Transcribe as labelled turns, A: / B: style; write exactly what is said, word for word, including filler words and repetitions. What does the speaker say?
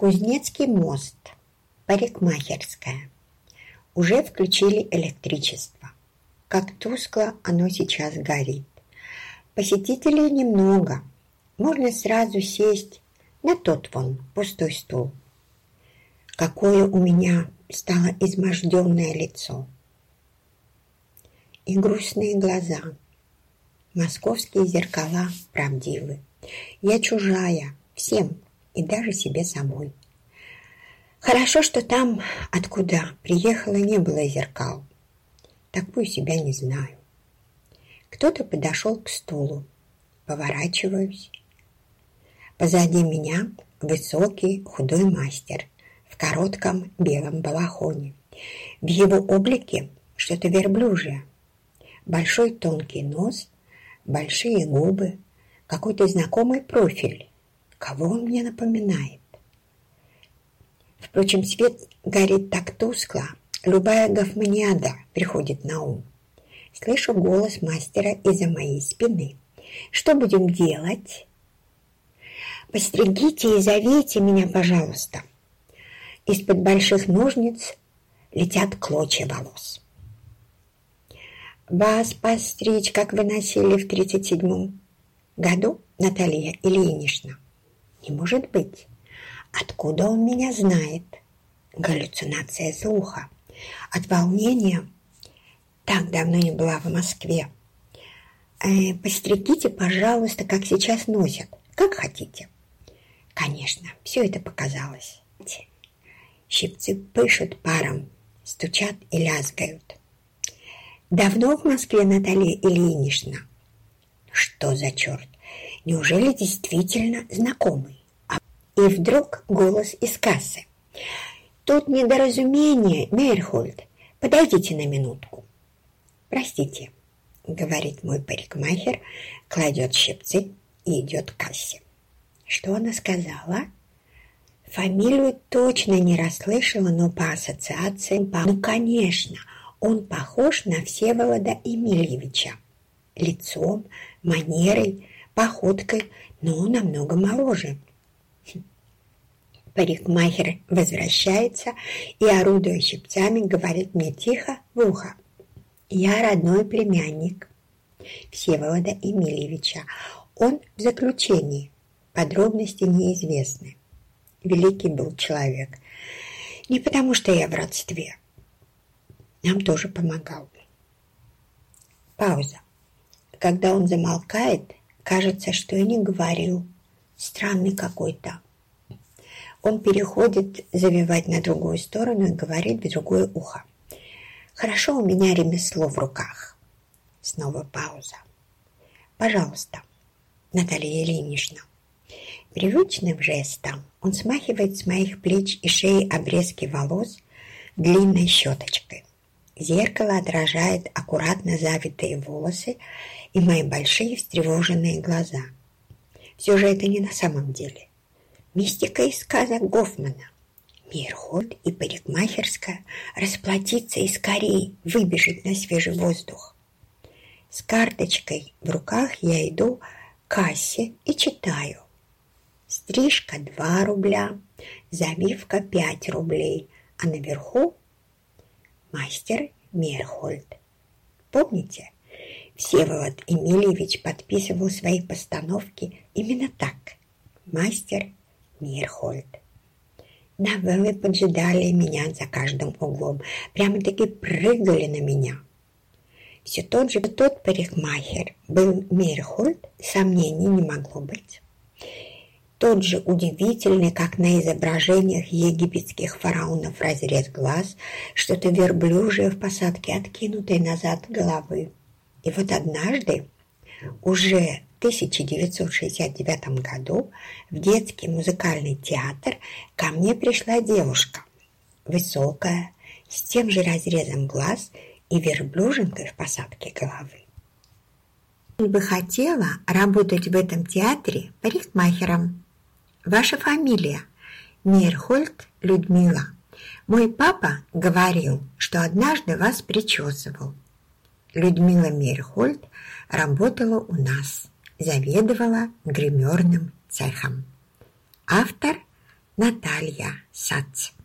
A: Кузнецкий мост, парикмахерская. Уже включили электричество. Как тускло оно сейчас горит. Посетителей немного. Можно сразу сесть на тот вон пустой стул. Какое у меня стало изможденное лицо. И грустные глаза. Московские зеркала правдивы. Я чужая всем и даже себе самой. Хорошо, что там, откуда приехала, не было зеркал. Такую себя не знаю. Кто-то подошел к стулу. Поворачиваюсь. Позади меня высокий худой мастер в коротком белом балахоне. В его облике что-то верблюжье. Большой тонкий нос, большие губы, какой-то знакомый профиль. Кого он мне напоминает? Впрочем, свет горит так тускло, любая гофманиада приходит на ум. Слышу голос мастера из-за моей спины. Что будем делать? Постригите и завейте меня, пожалуйста. Из-под больших ножниц летят клочья волос. Вас постричь, как вы носили в тридцать седьмом году, Наталья Ильинична? Не может быть. Откуда он меня знает? Галлюцинация слуха. От волнения так давно не была в Москве. Э, постригите, пожалуйста, как сейчас носят. Как хотите. Конечно, все это показалось. Щипцы пышут паром, стучат и лязгают. Давно в Москве, Наталья Ильинична? Что за черт? Неужели действительно знакомый? И вдруг голос из кассы. Тут недоразумение, Мейерхольд. Подойдите на минутку. Простите, говорит мой парикмахер, кладет щипцы и идет к кассе. Что она сказала? Фамилию точно не расслышала, но по ассоциациям... По... Ну, конечно, он похож на Всеволода Емельевича. Лицом, манерой, походкой, но намного моложе. Парикмахер возвращается и, орудуя щипцами, говорит мне тихо в ухо. Я родной племянник Всеволода Емельевича. Он в заключении. Подробности неизвестны. Великий был человек. Не потому, что я в родстве. Нам тоже помогал. Пауза. Когда он замолкает, кажется, что и не говорил. Странный какой-то. Он переходит завивать на другую сторону и говорит в другое ухо. Хорошо, у меня ремесло в руках. Снова пауза. Пожалуйста, Наталья Ильинична. Привычным жестом он смахивает с моих плеч и шеи обрезки волос длинной щеточкой. Зеркало отражает аккуратно завитые волосы и мои большие встревоженные глаза. Все же это не на самом деле. Мистика из сказок Гофмана. Мейерхольд и парикмахерская расплатиться и скорее выбежать на свежий воздух. С карточкой в руках я иду к кассе и читаю. Стрижка два рубля, завивка пять рублей, а наверху мастер Мейерхольд. Помните, Всеволод Емельевич подписывал свои постановки именно так. Мастер Мейерхольд. Новеллы поджидали меня за каждым углом, прямо-таки прыгали на меня. Все тот же тот парикмахер был Мейерхольд, сомнений не могло быть. Тот же удивительный, как на изображениях египетских фараонов, разрез глаз, что-то верблюжье в посадке, откинутой назад головы. И вот однажды, уже в тысяча девятьсот шестьдесят девятом году, в детский музыкальный театр ко мне пришла девушка, высокая, с тем же разрезом глаз и верблюжинкой в посадке головы. Я бы хотела работать в этом театре парикмахером. Ваша фамилия? Мейерхольд Людмила. Мой папа говорил, что однажды вас причесывал. Людмила Мейерхольд работала у нас, заведовала гримерным цехом. Автор Наталья Сац.